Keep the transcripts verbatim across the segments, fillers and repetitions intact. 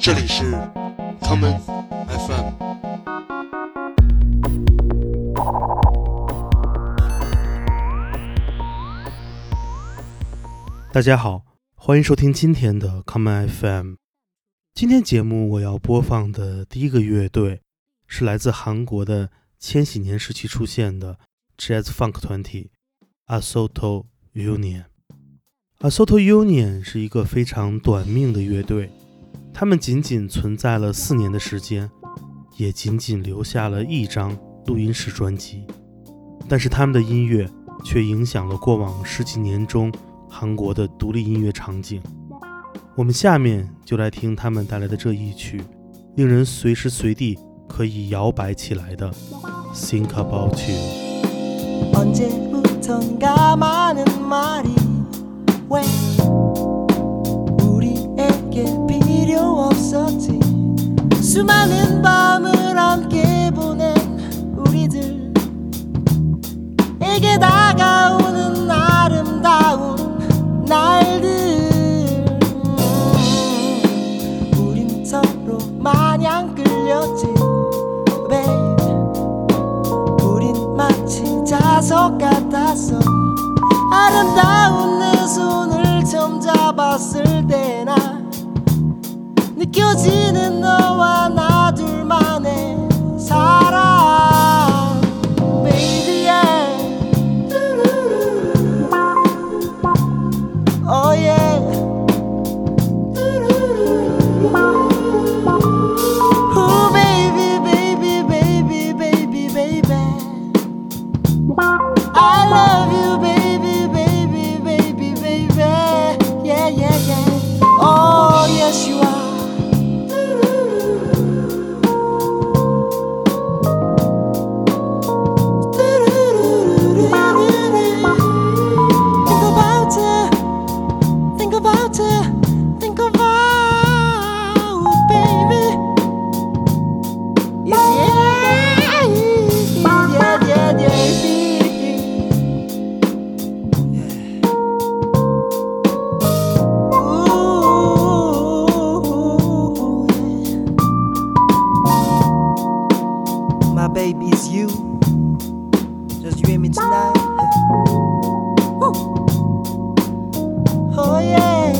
这里是 Common F M。 大家好，欢迎收听今天的 Common F M。 今天节目我要播放的第一个乐队是来自韩国的千禧年时期出现的 Jazz Funk 团体 Asoto Union。Asoto Union 是一个非常短命的乐队，他们仅仅存在了四年的时间，也仅仅留下了一张录音室专辑，但是他们的音乐却影响了过往十几年中韩国的独立音乐场景。我们下面就来听他们带来的这一曲，令人随时随地可以摇摆起来的 Think About You。 언제부턴가 많은 말이 왜 우리에게 필요 없었지. 수많은 밤을 함께 보낸 우리들에게 다가오는 아름다운 날들. 우린 서로 마냥 끌렸지 babe. 우린 마치 자석 같았어. 아름다운 내 손을 처음 잡았을 때나 느껴지는 너와 나 둘만의 사랑 baby yeah. Oh yeah. Oh baby baby baby baby baby I love you baby baby baby baby yeah yeah yeah. Oh yes you are. Think about it, think about it, baby. Yeah, yeah, yeah, yeah, yeah. Ooh, yeah. My baby's you, just you and me tonight. Ooh. Oh yeah.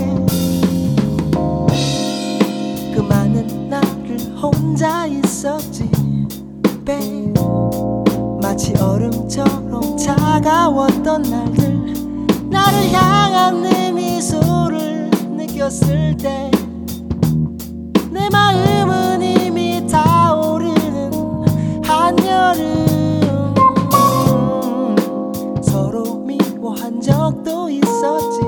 그 많은 날을 혼자 있었지 babe. 마치 얼음처럼 차가웠던 날들. 나를 향한 내 미소를 느꼈을 때 내 마음은 이미 타오르는 한여름. 서로 미워한 적도 있었지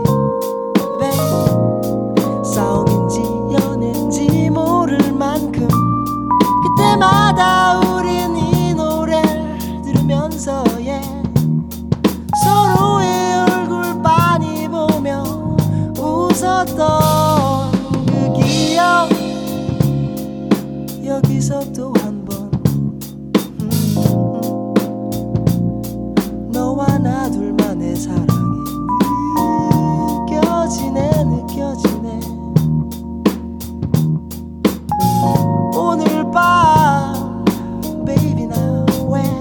싸움인지 연애인지 모를 만큼 그때마다 우린 이 노래를 들으면서 yeah. 서로의 얼굴 빤히 보며 웃었던 그 기억 여기서 또 한 번 음, 너와 나 둘만의 사랑이 느껴지네 느껴지네. 오늘 밤 baby now when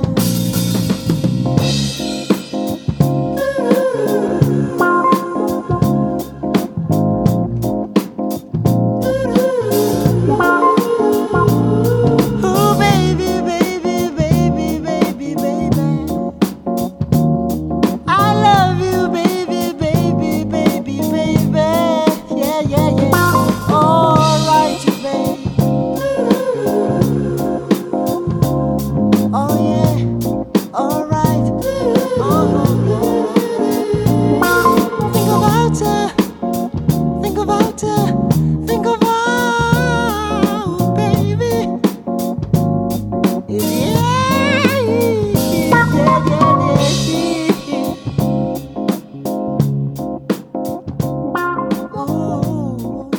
oh baby baby baby baby baby I love you baby baby baby baby yeah yeah yeah. Alright you baby. Oh yeah. Alright. Uh-huh. Think about it. Think about it. Think about it, baby. Yeah. Yeah, yeah, yeah, yeah. Ooh.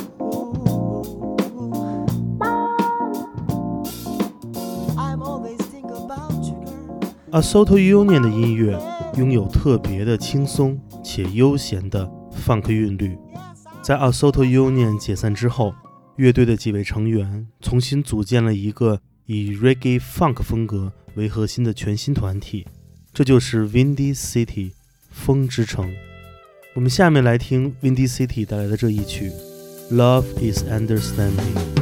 I'm always think about you, girl. Asoto Union 的音乐拥有特别的轻松且悠闲的 funk 韵律。在 Asoto Union 解散之后， 乐队的几位成员重新组建了一个以 Reggae Funk 风格为核心的全新团体，这就是 Windy City 风之城。我们下面来听 Windy City 带来的这一曲 Love is Understanding。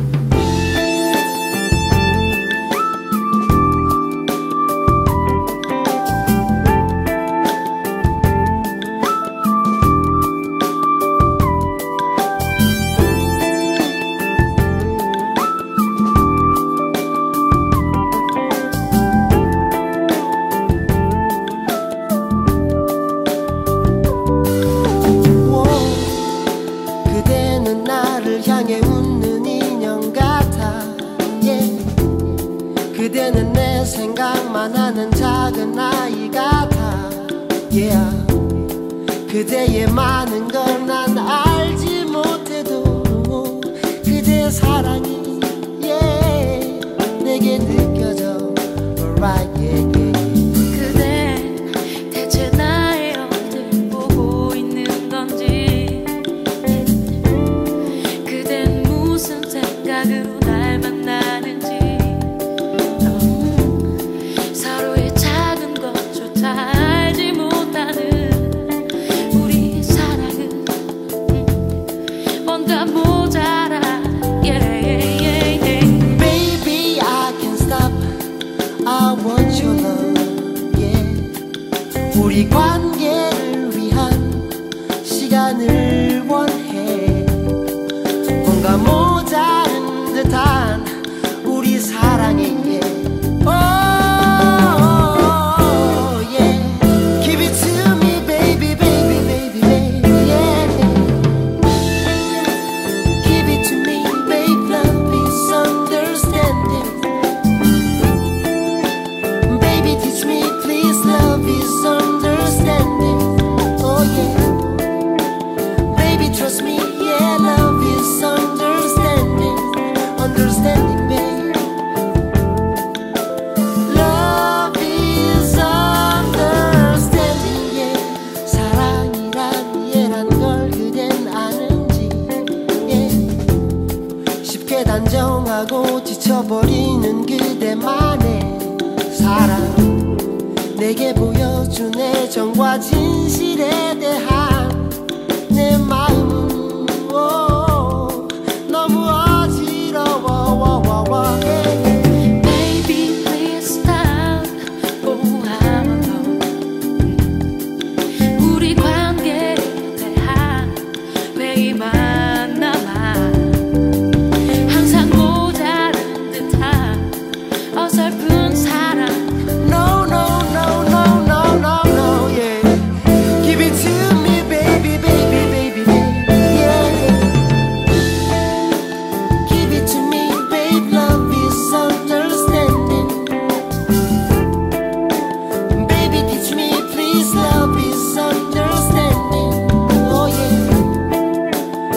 그대는 내 생각만 하는 작은 아이 같아 yeah. 그대의 많은 걸 난 알지 못해도 그대의 사랑이 yeah. 내게 느껴져 alright yeah, yeah. 그댄 대체 나의 어딜 보고 있는 건지 그댄 무슨 생각으로 날 만나는지 알지 못하는 우리 사랑은 뭔가 모자라 yeah, yeah, yeah. Baby I can't stop I want your love yeah. 우리 관계를 위한 시간을 원해 뭔가 모자른 듯한 우리 사랑에 yeah. oh. 단정하고 지쳐버리는 그대만의 사랑 내게 보여준 애정과 진실에 대한 내 마음은 오, 너무 어지러워 Baby please stop oh I'm alone 우리 관계에 대한 회의만 남아 어설픈 사랑 No no no no no no no yeah Give it to me baby baby baby baby yeah Give it to me babe love is understanding Baby teach me please love is understanding oh yeah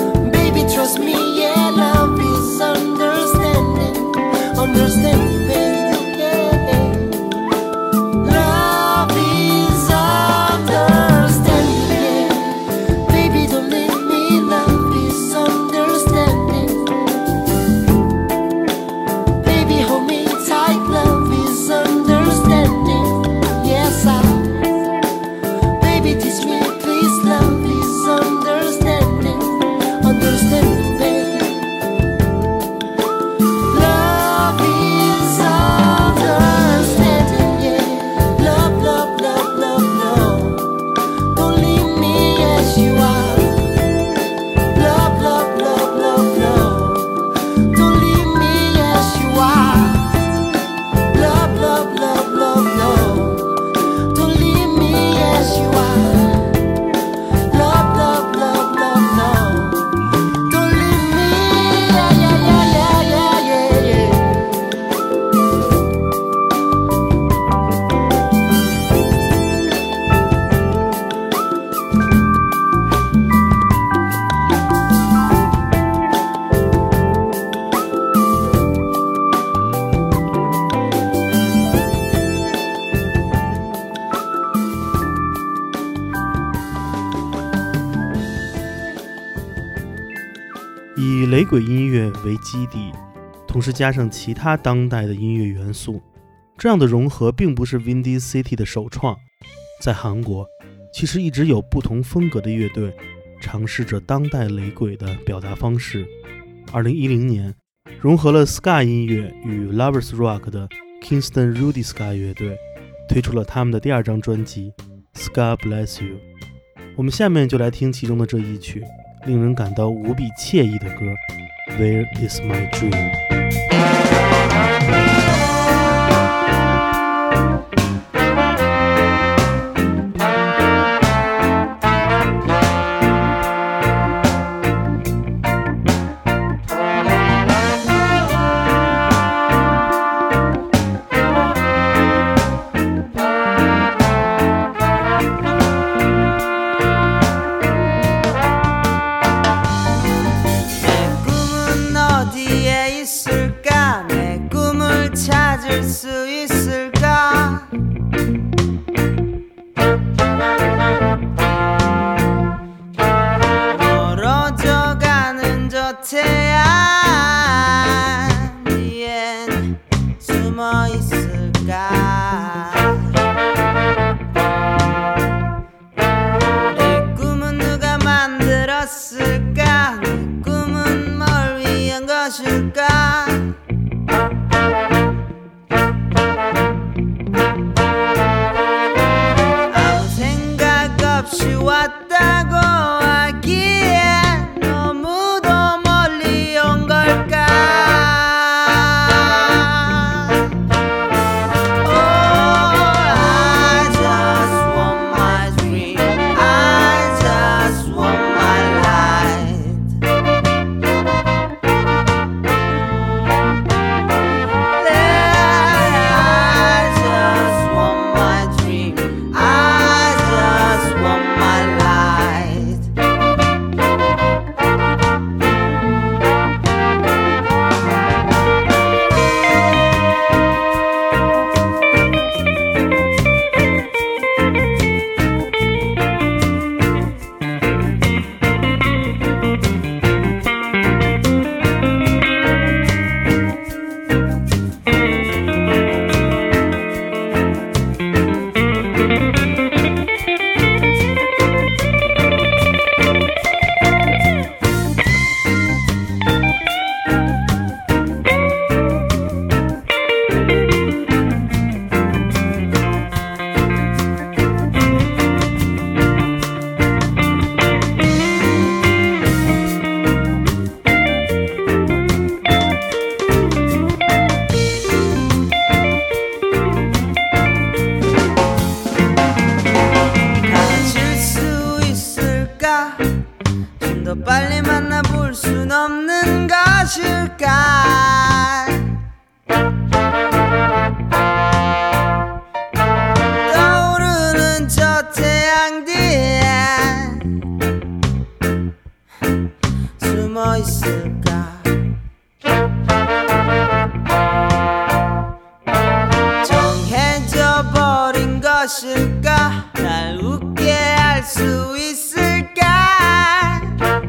以雷鬼音乐为基底，同时加上其他当代的音乐元素，这样的融合并不是 Windy City 的首创。在韩国，其实一直有不同风格的乐队尝试着当代雷鬼的表达方式。二零一零年，融合了 Ska 音乐与 Lovers Rock 的 Kingston Rudy Ska 乐队推出了他们的第二张专辑 Ska Bless You。 我们下面就来听其中的这一曲令人感到无比惬意的歌 Where is my dream。 아무 생각 없이 왔다고 하기엔 너무도 멀리 온 걸까. Oh, I just want my dream. I just want my light. I just want my dream. I just want my light. 가질 수 있을까? 좀 더 빨리 만나볼 순 없는 것일까? 떠오르는 저 태양 뒤에 숨어 있을까? 정해져 버린 것일까? 날 웃게 할 수 있을까?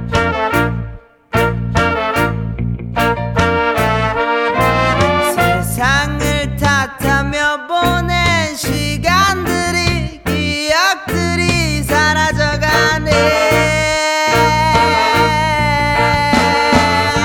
세상을 탓하며 보낸 시간들이 기억들이 사라져가네.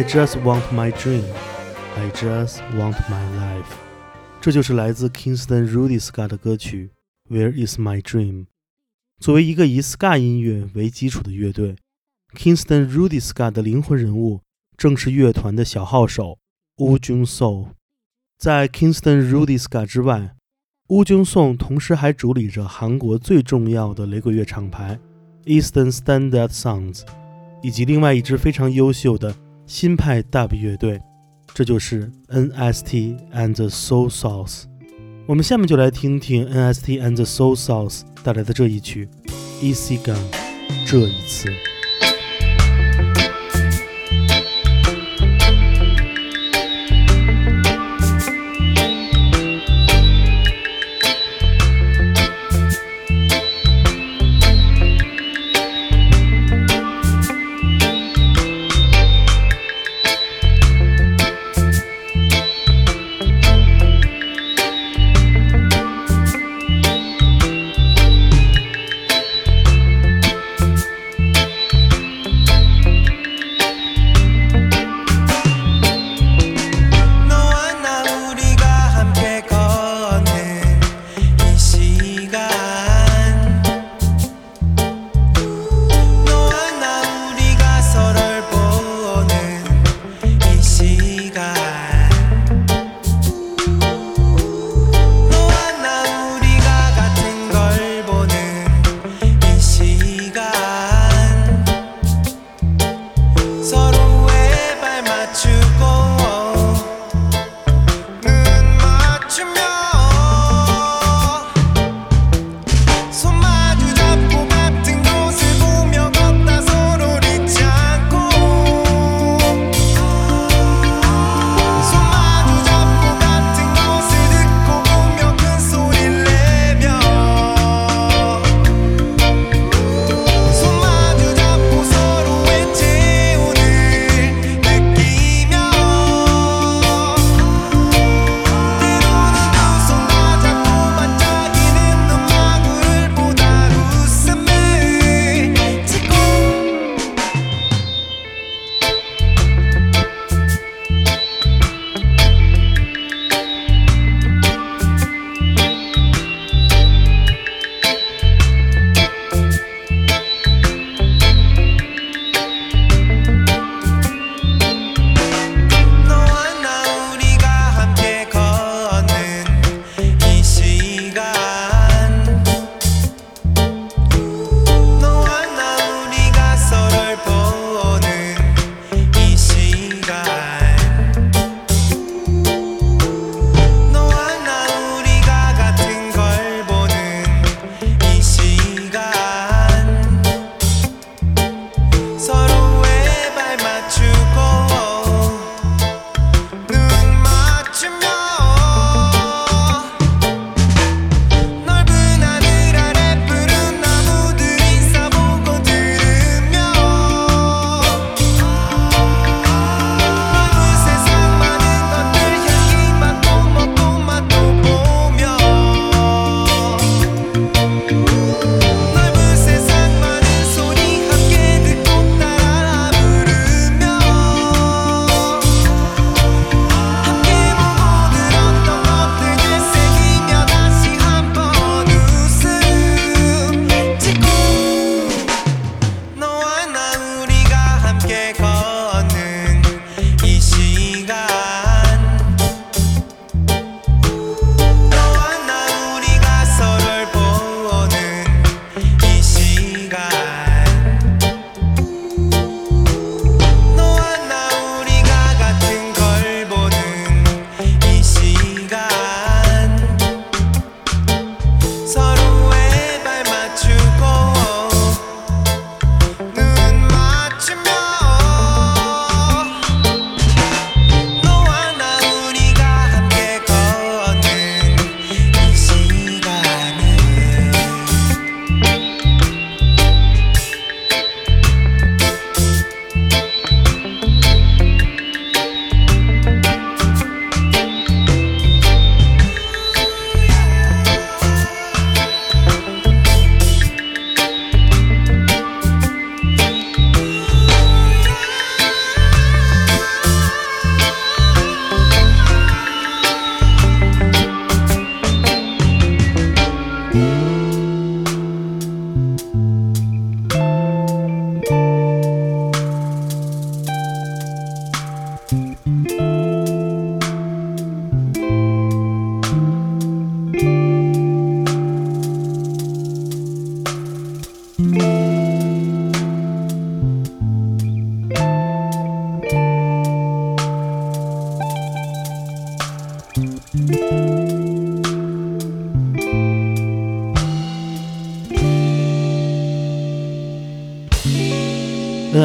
just want my dream, I just want my life。 这就是来自 Kingston Rudy Ska 的歌曲 Where is my dream。 作为一个以 Ska 音乐为基础的乐队， Kingston Rudy Ska 的灵魂人物正是乐团的小号手 Woo Jung Seo。 在 Kingston Rudy Ska 之外， Woo Jung Seo 同时还主理着韩国最重要的雷鬼乐厂牌 Eastern Standard Sounds， 以及另外一支非常优秀的新派 Dub 乐队，这就是 N S T and the Soul Sauce。 我们下面就来听听 N S T and the Soul Sauce 带来的这一曲 Easy Gun， 这一次。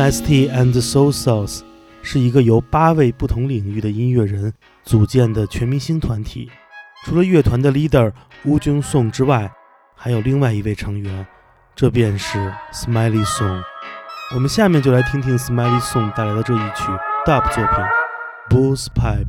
S T and the Soul Sauce 是一个由八位不同领域的音乐人组建的全明星团体，除了乐团的 leader 乌军颂之外，还有另外一位成员，这便是 Smiley Song。 我们下面就来听听 Smiley Song 带来的这一曲 dub 作品 Bull's Pipe。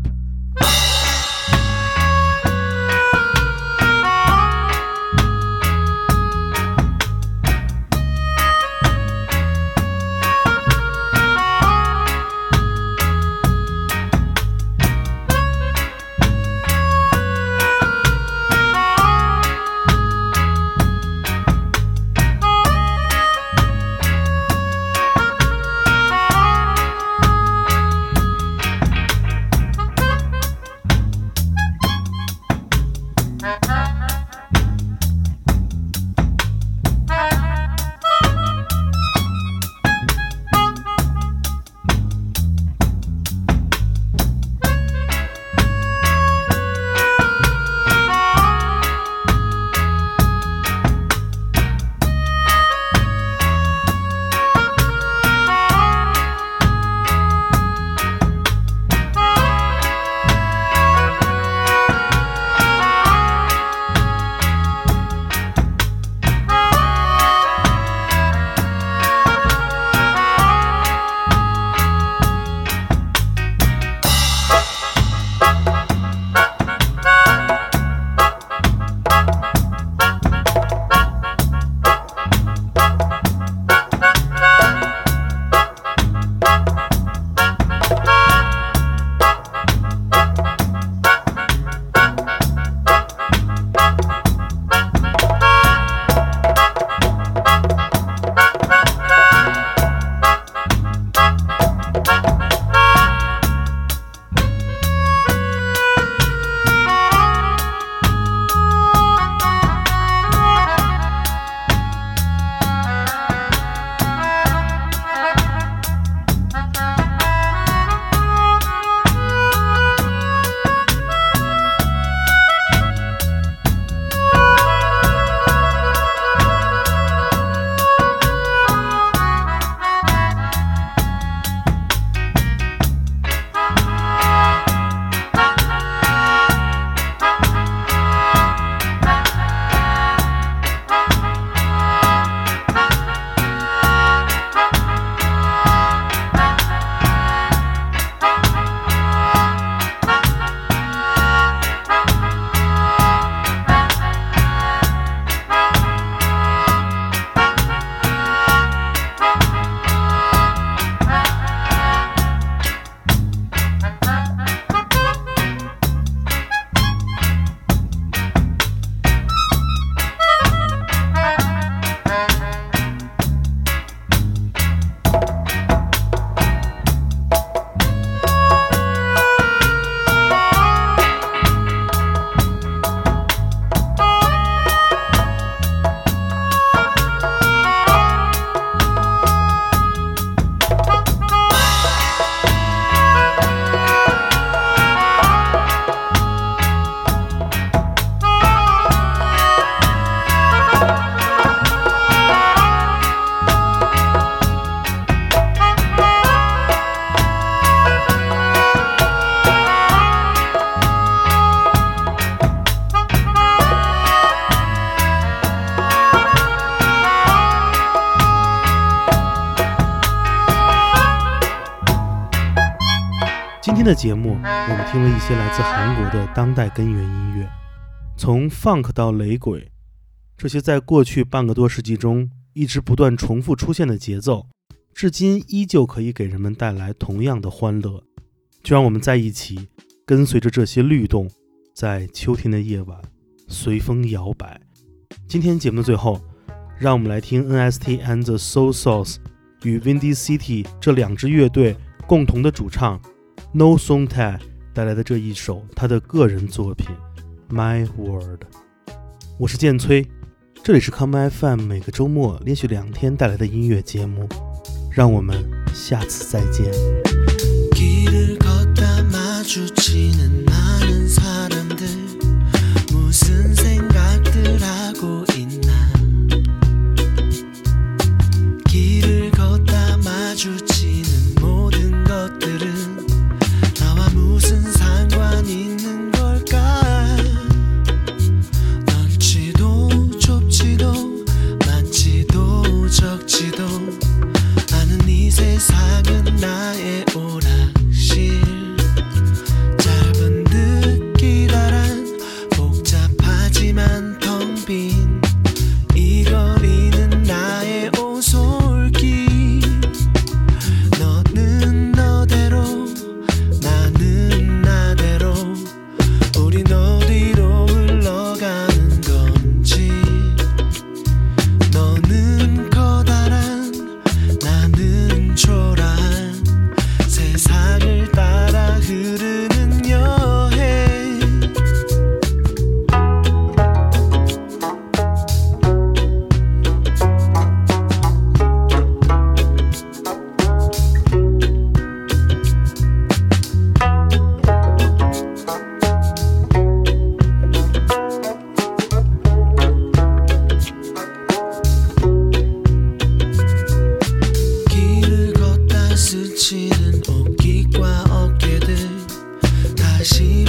今天的节目，我们听了一些来自韩国的当代根源音乐，从 funk 到雷鬼，这些在过去半个多世纪中一直不断重复出现的节奏，至今依旧可以给人们带来同样的欢乐。就让我们在一起，跟随着这些律动，在秋天的夜晚随风摇摆。今天节目的最后，让我们来听 N S T and the Soul Sauce 与 Windy City 这两支乐队共同的主唱 No Song Tae 带来的这一首他的个人作品 My World。 我是建崔，这里是 Come F M 每个周末连续两天带来的音乐节目，让我们下次再见。 길을 걷다 마주치는 많은 사람들 무슨 생각들 하고 있나 길을 걷다 마주치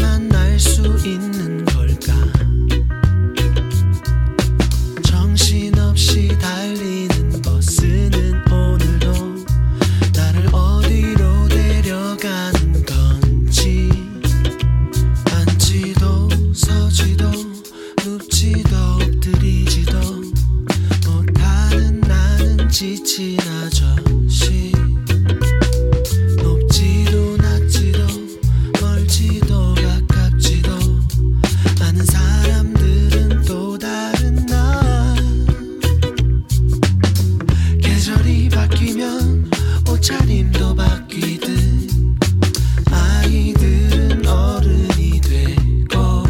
만날 수 있는 걸까 정신없이 달리는 버스는 오늘도 나를 어디로 데려가는 건지 앉지도 서지도 눕지도 엎드리지도 못하는 나는 지친 아저씨 높지도 낮지도 멀지도 가깝지도 않은 사람들은 또 다른 나 계절이 바뀌면 옷차림도 바뀌듯 아이들은 어른이 되고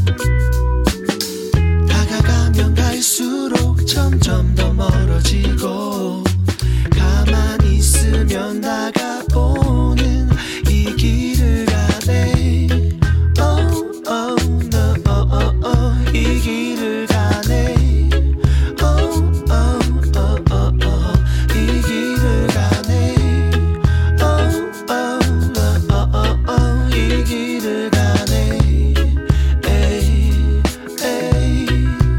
다가가면 갈수록 점점 더 멀어지고 가만히 있으면 다가오는 이 길을 가네 oh, oh, no, oh, oh, oh. 이 길을 가네 oh, oh, oh, oh, oh. 이 길을 가네 oh, oh, oh, oh, oh. 이 길을 가네 에이, 에이.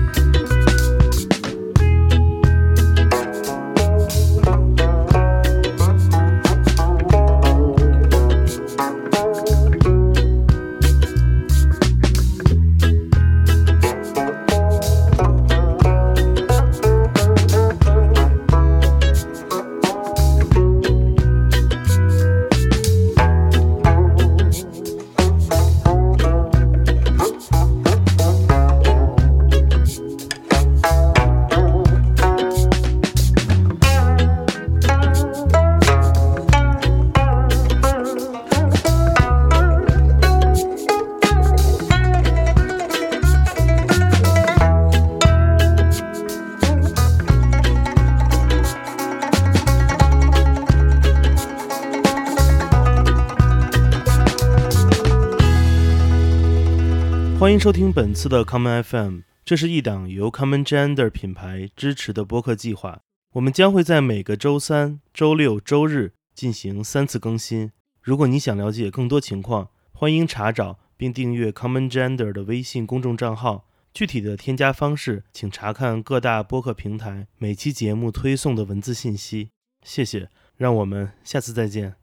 欢迎收听本次的 Common F M， 这是一档由 Common Gender 品牌支持的播客计划。我们将会在每个周三、周六、周日进行三次更新。如果你想了解更多情况，欢迎查找并订阅 Common Gender 的微信公众账号。具体的添加方式，请查看各大播客平台每期节目推送的文字信息。谢谢，让我们下次再见。